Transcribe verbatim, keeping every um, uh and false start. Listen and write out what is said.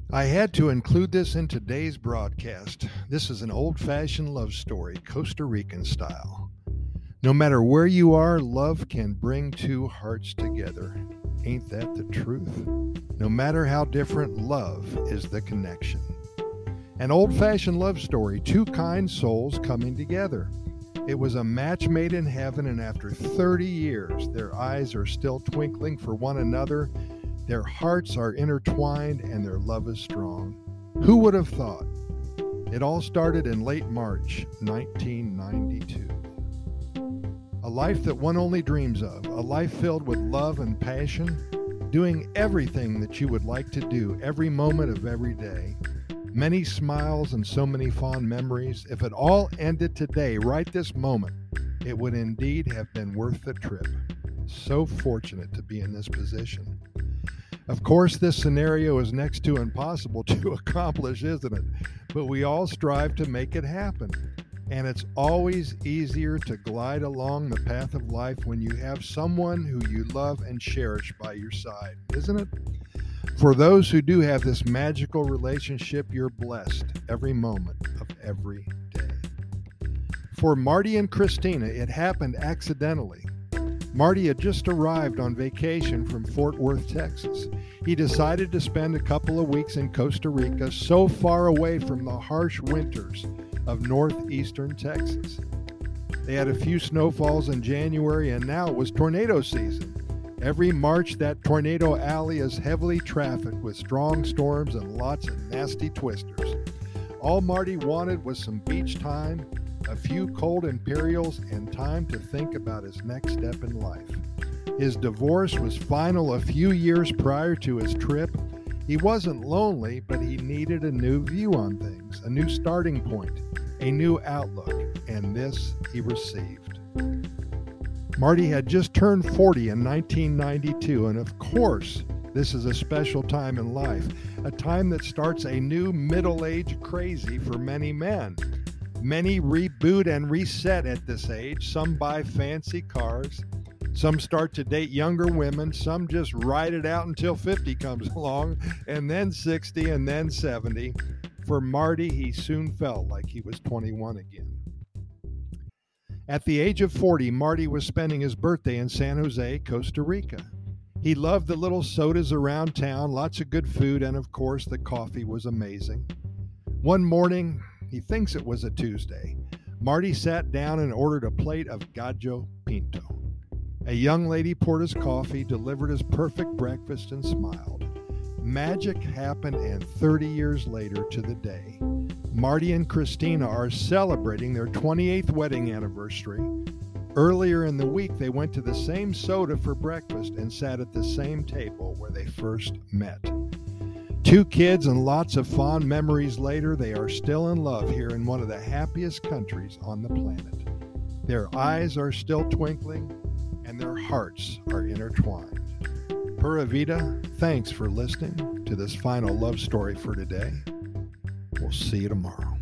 I had to include this in today's broadcast. This is an old-fashioned love story, Costa Rican style. No matter where you are, love can bring two hearts together. Ain't that the truth? No matter how different, love is the connection. An old-fashioned love story, two kind souls coming together. It was a match made in heaven, and after thirty years, their eyes are still twinkling for one another. Their hearts are intertwined and their love is strong. Who would have thought? It all started in late March nineteen ninety-two. A life that one only dreams of, a life filled with love and passion, doing everything that you would like to do every moment of every day. Many smiles and so many fond memories. If it all ended today, right this moment, it would indeed have been worth the trip. So fortunate to be in this position. Of course, this scenario is next to impossible to accomplish, isn't it? But we all strive to make it happen. And it's always easier to glide along the path of life when you have someone who you love and cherish by your side, isn't it? For those who do have this magical relationship, you're blessed every moment of every day. For Marty and Christina, it happened accidentally. Marty had just arrived on vacation from Fort Worth, Texas. He decided to spend a couple of weeks in Costa Rica, so far away from the harsh winters of northeastern Texas. They had a few snowfalls in January, and now it was tornado season. Every March, that tornado alley is heavily trafficked with strong storms and lots of nasty twisters. All Marty wanted was some beach time, a few cold Imperials, and time to think about his next step in life. His divorce was final a few years prior to his trip. He wasn't lonely, but he needed a new view on things, a new starting point, a new outlook, and this he received. Marty had just turned forty in nineteen ninety-two, and of course, this is a special time in life, a time that starts a new middle-age crazy for many men. Many reboot and reset at this age. Some buy fancy cars. Some start to date younger women. Some just ride it out until fifty comes along, and then sixty, and then seventy. For Marty, he soon felt like he was twenty-one again. At the age of forty, Marty was spending his birthday in San Jose, Costa Rica. He loved the little sodas around town, lots of good food, and of course, the coffee was amazing. One morning, he thinks it was a Tuesday, Marty sat down and ordered a plate of gallo pinto. A young lady poured his coffee, delivered his perfect breakfast, and smiled. Magic happened, and thirty years later to the day, Marty and Christina are celebrating their twenty-eighth wedding anniversary. Earlier in the week, they went to the same soda for breakfast and sat at the same table where they first met. Two kids and lots of fond memories later, they are still in love here in one of the happiest countries on the planet. Their eyes are still twinkling, and their hearts are intertwined. Pura Vida, thanks for listening to this final love story for today. We'll see you tomorrow.